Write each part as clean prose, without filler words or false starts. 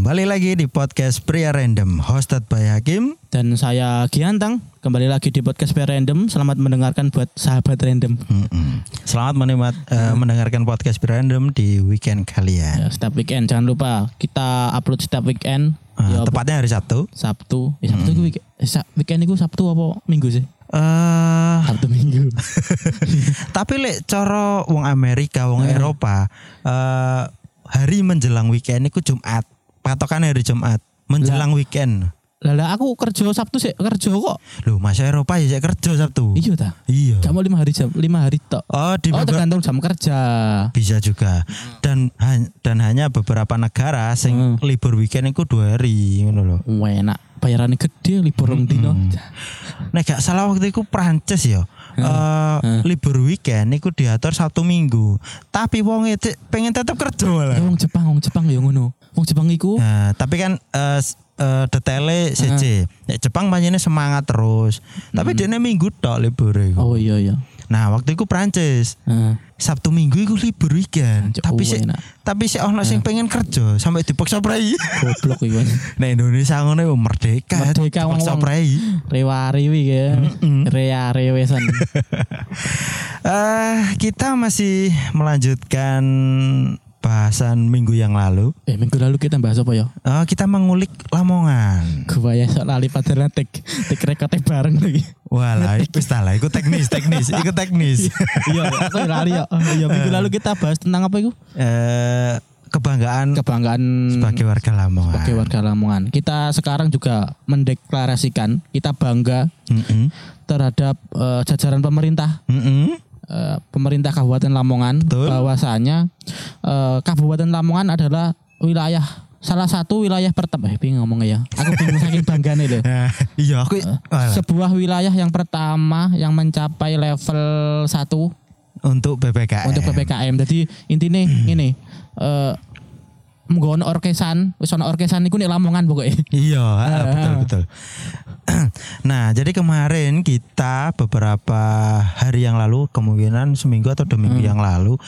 Kembali lagi di podcast Pria Random, hosted by Hakim dan saya Giantang. Kembali lagi di podcast Pria Random. Selamat mendengarkan buat sahabat random. Selamat mendengarkan podcast Pria Random di weekend kalian. Ya, setiap weekend jangan lupa kita upload setiap weekend. Tepatnya hari Sabtu. Sabtu itu weekend itu Sabtu apa Minggu sih? Sabtu Minggu. Tapi lek cara wong Amerika, wong Eropa, hari menjelang weekend itu Jumat. Patokan hari Jumat menjelang weekend. Lah aku kerja Sabtu sih kerja kok. Loh, masa Eropa ya kerja Sabtu. Iya ta? Iya. Kamu 5 hari tok. Tergantung jam kerja. Bisa juga. Dan hanya beberapa negara sing libur weekend itu 2 hari ngono lho. Enak. Bayarannya gede libur rong dino. Nek gak salah waktu itu Prancis ya. Libur weekend iku diatur Sabtu Minggu. Tapi wong itu pengen tetap kerja lah. Wong Jepang ya ngono. Wong Jepang iku. Nah, tapi kan detailnya CC. Jepang banyak semangat terus. Tapi dia minggu tok libur iku. Oh iya. Nah, waktu itu Prancis. Sabtu Minggu iku libur weekend. Tapi si ono sing pengen kerja sampai dipaksa prei. Goblok iku. Nah, Indonesia ngono merdeka dipaksa prei. Rewa-rewi ya. Rea-rewesan. Kita masih melanjutkan bahasan minggu yang lalu. Minggu lalu kita bahas apa ya? Kita mengulik Lamongan. Gua ya sok lali padahal tek rekote bareng lagi. Walah, itu salah. Itu teknis. Iya, aku lali ya. Iya, minggu lalu kita bahas tentang apa itu? Kebanggaan sebagai warga Lamongan. Kita sekarang juga mendeklarasikan kita bangga terhadap jajaran pemerintah. Pemerintah Kabupaten Lamongan. Betul. Bahwasanya Kabupaten Lamongan adalah salah satu wilayah pertama. Bingung ngomongnya ya. Aku bingung saking banggane lho. Iya, aku sebuah wilayah yang pertama yang mencapai level 1 untuk PPKM. Jadi intinya ini menggono orkesan, wis ana orkesan iku nek Lamongan pokoknya. Iya, betul. Nah, jadi kemarin kita beberapa hari yang lalu, kemungkinan seminggu atau 2 minggu yang lalu,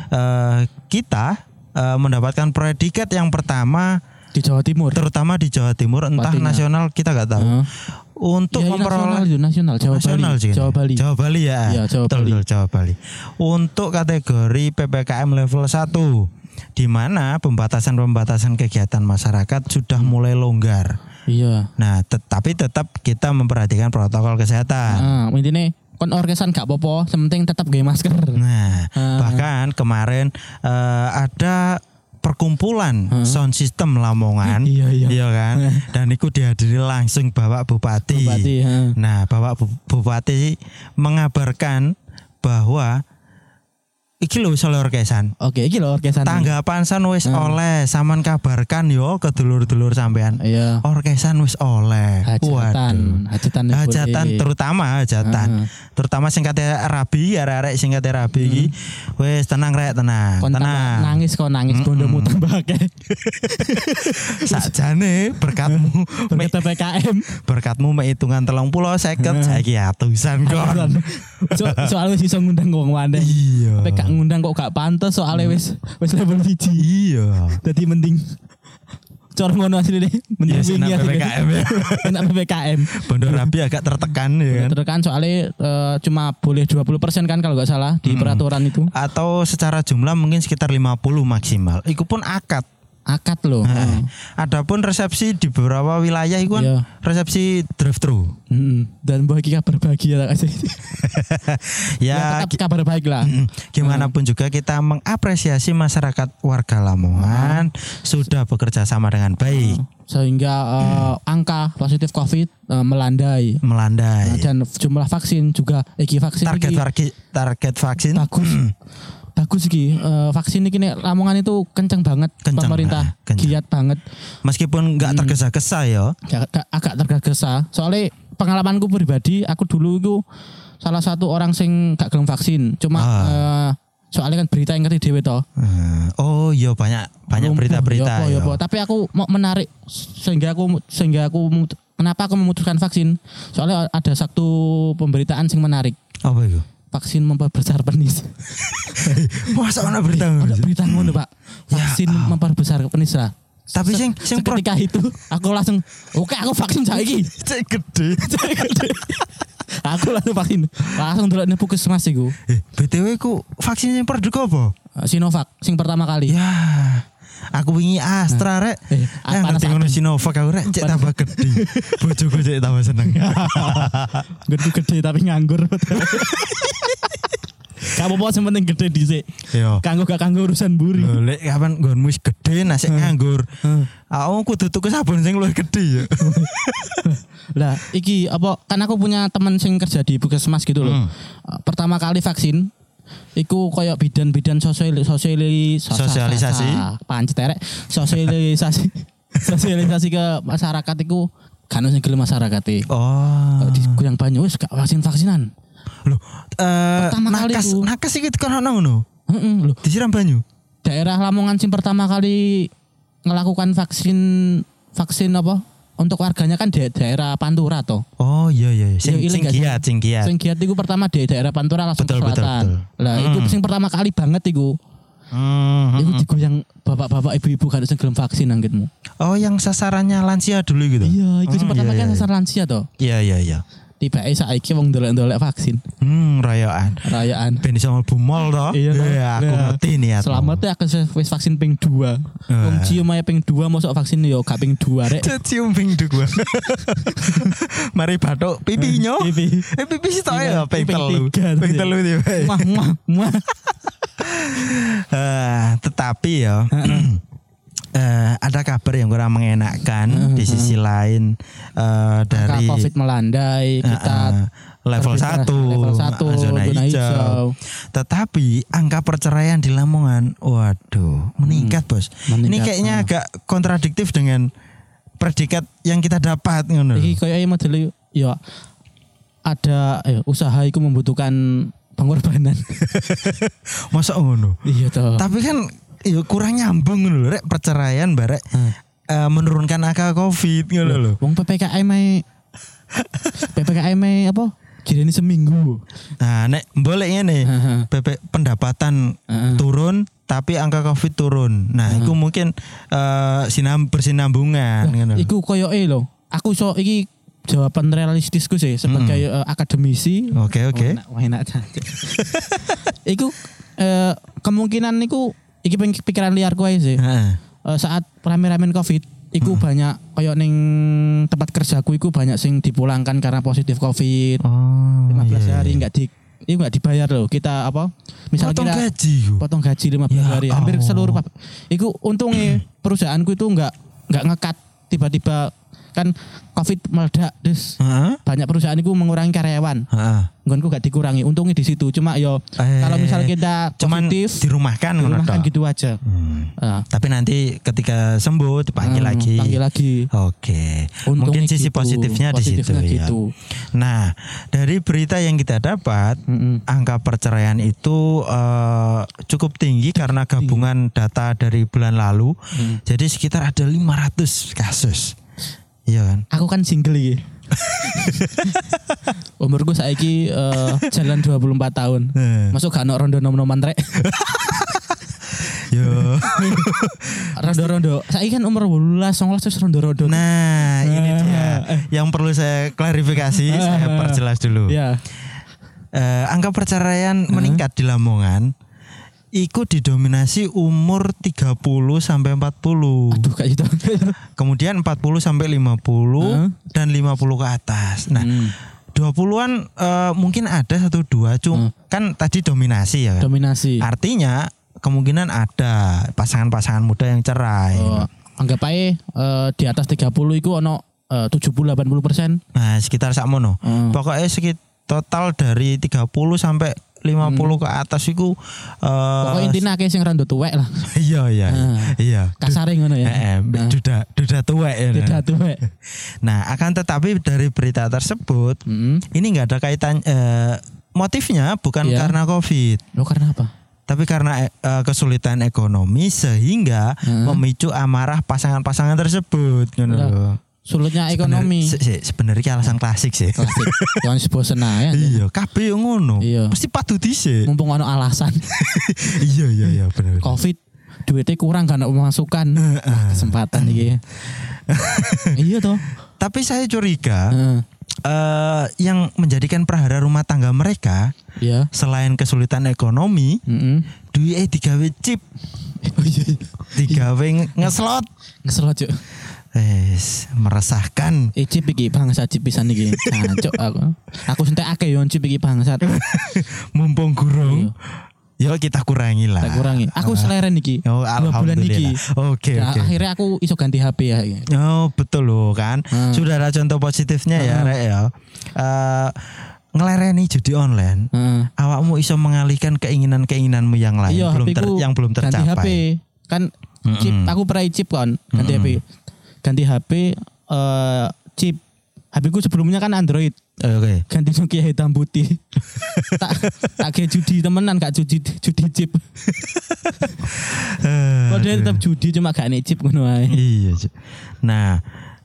kita mendapatkan predikat yang pertama di Jawa Timur, terutama di Jawa Timur, entah nasional kita nggak tahu. Untuk memperoleh nasional Jawa Bali ya. Betul, Jawa Bali. Untuk kategori PPKM level 1 di mana pembatasan kegiatan masyarakat sudah mulai longgar. Iya. Nah, tapi tetap kita memperhatikan protokol kesehatan. Intinya kon orkesan gak apa-apa, sementing tetap gawe masker. Nah, bahkan kemarin ada perkumpulan sound system Lamongan. Iya kan? Dan itu dihadiri langsung Bapak Bupati. Nah, Bapak Bupati mengabarkan bahwa iki lho wis oleh orkesan. Oke, iki lho orkesan. Tanggapan san wis oleh, sampean kabarkan yo ke dulur-dulur sampean. Iya. Orkesan wis oleh. Hajatan terutama hajatan. Terutama sing kate rabi, arek-arek sing kate rabi iki wis tenang. Tenang. Nangis bondomu tambah akeh. Sakjane berkatmu PPKM. Berkatmu hitungan 30 50 saiki atusan kon. Soalnya iso ngundang wong wae. Iya. Ngundang kok gak pantes soalnya wis level 1. Iya. Jadi mending cor ngono asline mending wingi PPKM ya. Enak PPKM. Bondo Rabi agak tertekan ya kan. Tertekan soalnya cuma boleh 20% kan kalau enggak salah di peraturan itu. Atau secara jumlah mungkin sekitar 50 maksimal. Iku pun akad loh. Adapun resepsi di beberapa wilayah itu kan resepsi drive-thru. Dan bagi kabar bahagia kasih. Ya tetap kabar baik lah. Gimana pun juga kita mengapresiasi masyarakat warga Lamongan sudah bekerja sama dengan baik. Sehingga angka positif COVID melandai. Dan jumlah vaksin juga target vaksin bagus iki vaksin iki nek Lamongan itu kenceng banget. Pemerintah giat banget meskipun enggak tergesa-gesa ya. Agak tergesa. Soalnya pengalamanku pribadi, aku dulu itu salah satu orang sing gak gelem vaksin. Cuma soalnya kan berita yang ngerti dhewe to. Oh iya banyak berita-berita. Tapi aku mau menarik sehingga aku kenapa aku memutuskan vaksin? Soalnya ada satu pemberitaan sing menarik. Apa itu? Vaksin memperbesar penis. Masa ada berita ngono, Pak? Vaksin memperbesar penis lah. Tapi sing ketika itu aku langsung oke aku vaksin saiki. Cek gede. Aku langsung vaksin. Langsung delok nang puskesmas iku. BTW ku vaksin yang produk apa? Sinovac sing pertama kali. Ya. Aku wingi Astra rek. Ngerti ngono Sinovac aku rek cek tambah gede. Bojoku cek tambah seneng. Gede tapi nganggur. Kamu mau penting gede dhisik. Kanggo gak kanggo urusan buri. Lek kapan nggonmu wis gede nasik nganggur. Aku kudu tuku sabun sing luwih gede ya. Lah iki apa kan aku punya teman sing kerja di puskesmas gitu loh. Pertama kali vaksin iku koyo bidan-bidan sosialisasi. Pancet terek sosialisasi ke masyarakat iku kan sing gelem masyarakat e. Di Guyang Banyu wis gak vaksinan. Loh, nakas iki kan ono ngono. Heeh, lho. Disiram banyu. Daerah Lamongan sing pertama kali ngelakukan vaksin apa? Untuk warganya kan di daerah Pantura toh. Oh iya. Sing giat. Sing giat iku pertama di daerah Pantura langsung ke selatan. Lah itu sing pertama kali banget iku. Iku digoyang bapak-bapak ibu-ibu kan sing gelem vaksin anggitmu. Oh, yang sasarannya lansia dulu gitu. Iya, iku sing pertama kali sasaran lansia toh. Iya. Tiba saiki wong ndolek-ndolek vaksin. Rayaan. Ben iso mlebu mall to. Iya, aku ngerti nih ya. Selamat ya aku wis vaksin ping 2. Wong cium ae ping 2 mosok vaksin yo gak ping 2 rek. Cium ping 2. Mari bathuk pipinya. Pipi sih tok ya ping 3. Ping 3 tiba. Mah. Tetapi ya ada kabar yang kurang mengenakan di sisi lain dari COVID melandai kita level 1 zona hijau. Tetapi angka perceraian di Lamongan waduh meningkat bos. Ini kayaknya agak kontradiktif dengan predikat yang kita dapat ngono. Iki koyo model ya ada usaha itu membutuhkan pengorbanan. Masa ngono? Iya toh. Tapi kan kurang nyambung ngono lho rek perceraian barek menurunkan angka Covid ngono lho. Wong PPKM apa? Kirane seminggu. Nah, nek boleh ngene. Pendapatan turun tapi angka Covid turun. Nah, itu mungkin bersinambungan ngono. Iku koyoke lho. Aku iki jawaban realistisku sih sebagai akademisi. Oke. Enak. Iku kemungkinan niku iki pikiran liarku aja sih. Saat rame-ramen Covid, iku banyak koyo ning tempat kerjaku iku banyak sing dipulangkan karena positif Covid. 15 hari enggak dibayar loh. Kita apa? Misalnya potong gaji 15 hari. Hampir seluruh iku untungnya perusahaanku itu enggak ngekat tiba-tiba kan Covid meledak terus banyak perusahaan itu mengurangi karyawan. Nggonku gak dikurangi. Untungnya di situ. Cuma kalau misalnya kita positif dirumahkan gitu aja. Tapi nanti ketika sembuh dipanggil lagi. Oke. Mungkin sisi positifnya di situ ya. Nah, dari berita yang kita dapat, angka perceraian itu cukup tinggi karena gabungan data dari bulan lalu. Jadi sekitar ada 500 kasus. Iya kan? Aku kan single iki. Umurku saiki jalan 24 tahun. Masuk gak ono rondo nom-noman rek. Yo. Rondo-rondo. Saiki kan umur 18, 19 terus rondo-rondo. Nah, ini dia. Yang perlu saya klarifikasi, saya perjelas dulu. Iya. Angka perceraian meningkat di Lamongan. Iku didominasi umur 30 sampai 40. Aduh kayak gitu. Kemudian 40 sampai 50 dan 50 ke atas. Nah, 20-an mungkin ada 1-2 cuma kan tadi dominasi ya kan. Dominasi. Artinya kemungkinan ada pasangan-pasangan muda yang cerai. Anggap aja di atas 30 itu ono 70-80%. Nah, sekitar sakmono. Pokoknya total dari 30 sampai 50 ke atas iku pokoknya intinya akeh sing rada tuwek lah. Iya. Kasare ngono ya. Duda tuwek ya. Duda tuwek. Nah, akan tetapi dari berita tersebut ini enggak ada kaitan motifnya bukan karena Covid. Karena apa? Tapi karena kesulitan ekonomi sehingga memicu amarah pasangan-pasangan tersebut ngono. Sulitnya ekonomi. Sebenarnya alasan klasik sih. Klasik. Yang bosen ae. Iya, kabeh yo ngono. Mesti padu dhisik. Mumpung ono alasan. Iya bener. Covid duitnya kurang kan pemasukan. Kesempatan iki. Iya toh. Tapi saya curiga yang menjadikan prahara rumah tangga mereka selain kesulitan ekonomi, duitnya digawe chip. Digawe ngeslot Cuk. Meresahkan. Chip iki bangsa chip pisan iki. Cuk aku sentekake yo chip iki bangsat. Mumpung gurung. Ya kita kurangi lah. Kita kurangi. Aku seleren iki. 2 bulan iki. Oke. Akhirnya aku iso ganti HP ya. Oh betul loh kan. Sudah ada contoh positifnya ya Rek ya. Ngelereni judi online. Awakmu iso mengalihkan keinginan-keinginanmu yang lain yang belum tercapai. Ganti HP. Kan chip aku pernah chip kan ganti HP. Ganti HP chip. HP ku sebelumnya kan Android. Oke. Ganti Nokia hitam putih. tak kayak judi temenan gak judi chip. Padahal tetap judi cuma gak nek chip ngono ae. Iya. Nah,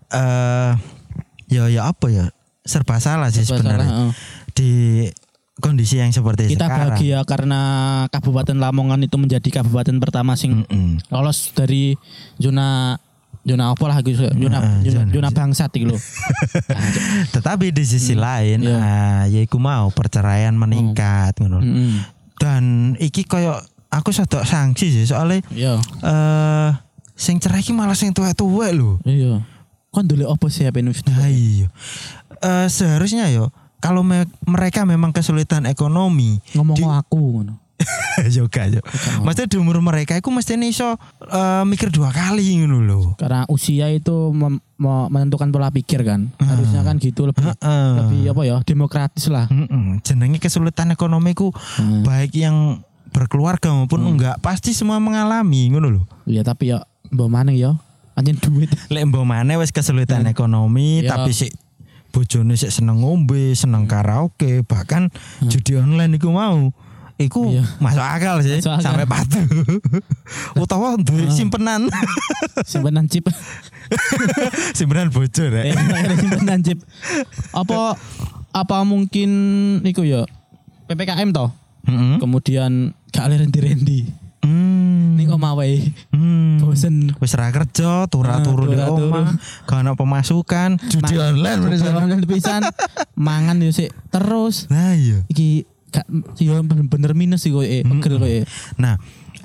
ya apa ya? Serba salah sih sebenarnya. Di kondisi yang seperti kita sekarang. Kita bahagia karena Kabupaten Lamongan itu menjadi kabupaten pertama sing lolos dari zona apa lah gitu, zona bangsat gitu loh. Tetapi di sisi lain, ya iku mau perceraian meningkat ngono. Dan iki koyo aku sadok sanksi sih soalnya sing cerai iki malah sing tuwek-tuwek lho. Iya. Kon ndolek opo sih HP wis. Iya. Seharusnya yo kalau mereka memang kesulitan ekonomi ngomong aku ngono. Juga. Maksudnya di umur mereka itu mesti iso mikir 2 kali ngono lho. Karena usia itu menentukan pola pikir kan. Harusnya kan gitu lebih apa ya, demokratis lah. Jenenge kesulitan ekonomiku baik yang berkeluarga maupun enggak pasti semua mengalami ngono lho. Iya tapi ya mbok maneh ya anjen duit. Lek mbok maneh wis kesulitan ekonomi tapi sik bojone sik seneng ngombe, seneng karaoke, bahkan judi online iku mau. Iku masuk akal sih sampai patuh. Utawa duwe simpenan. Simpenan chip. Simpenan bocor ya. Simpenan chip. Apa mungkin iku ya PPKM toh? Kemudian gak rendi-rendi. Ning omah wae. Bosen wis ra kerja, turu-turu di omah, gak ono pemasukan, judi online pisan. Mangan yo sik terus. Nah iya. Iki gak yo bener-bener minus sih pegel kowe. Nah,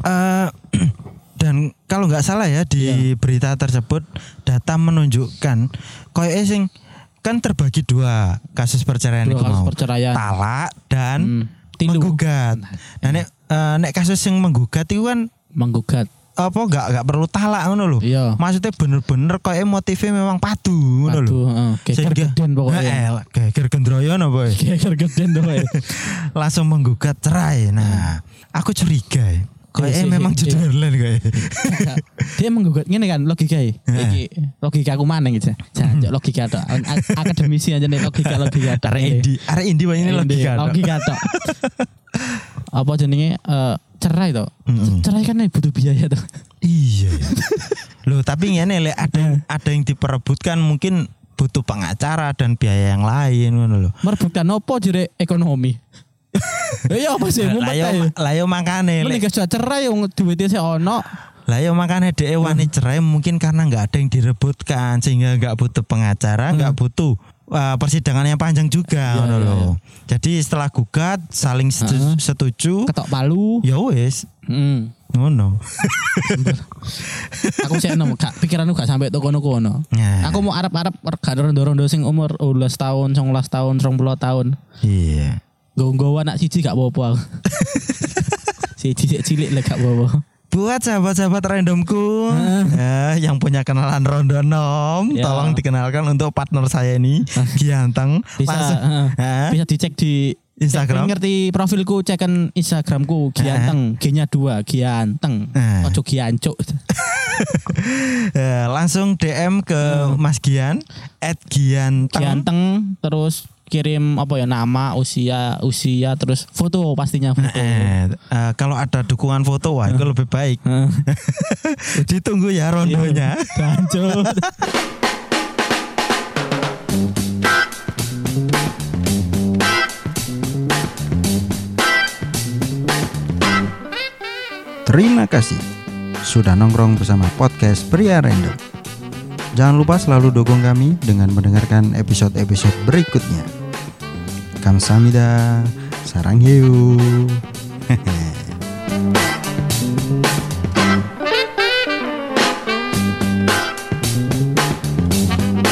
dan kalau nggak salah ya di berita tersebut data menunjukkan koyo sing kan terbagi 2 kasus perceraian itu mau. Talak dan menggugat. Nah nek kasus yang menggugat itu kan menggugat apa gak perlu talak ngono lho. Maksudnya bener-bener koyo motifnya memang padu ngono lho. Geger geden pokoknya. Geger gendroyo napa? Geger geden to. Langsung menggugat cerai. Nah, aku curiga koyo memang jujur lan koyo. Dia menggugat ngene kan logikae. Iki logika aku maneh gitu. Jancuk logika tok. Akademisi aja nek logika tok. Arek indi wae ini logika tok. Logika tok. Apa jenenge cerai toh. Cerai kan butuh biaya toh. Iya. Loh, tapi ngene lek ada yang diperebutkan mungkin butuh pengacara dan biaya yang lain ngono lho. Merebutkan opo jere ekonomi? Ya apa sih ngumpet. Lah yo makane lek sudah cerai wong duwite sik ono. Lah yo makane dhek wani cerai mungkin karena enggak ada yang direbutkan sehingga enggak butuh pengacara, enggak butuh persidangan yang panjang juga ngono lho. Jadi setelah gugat saling setuju, ketok palu. Ya wis. Ngono. Aku sih pikiranku gak sampai kono-kono. Aku mau arep-arep gak rondo-rondo sing umur 12 tahun, 19 tahun, 20 tahun. Iya. Nggowo anak siji gak apa-apa. Siji cilik lek gak apa-apa. Buat sahabat-sahabat randomku yang punya kenalan rondo nom, tolong dikenalkan untuk partner saya ini, Gianteng. Bisa dicek di Instagram. Ngerti profilku, cekan Instagramku Gianteng, G-nya 2, Gianteng. Ojo Giancuk. Langsung DM ke Mas Gian @Gianteng. Gianteng terus kirim apa ya, nama, usia terus foto pastinya foto. Kalau ada dukungan foto wah itu lebih baik. Ditunggu ya rondonya. Lanjut. Terima kasih sudah nongkrong bersama podcast Pria Random. Jangan lupa selalu dukung kami dengan mendengarkan episode-episode berikutnya. Kamsahamnida, sarang hiu.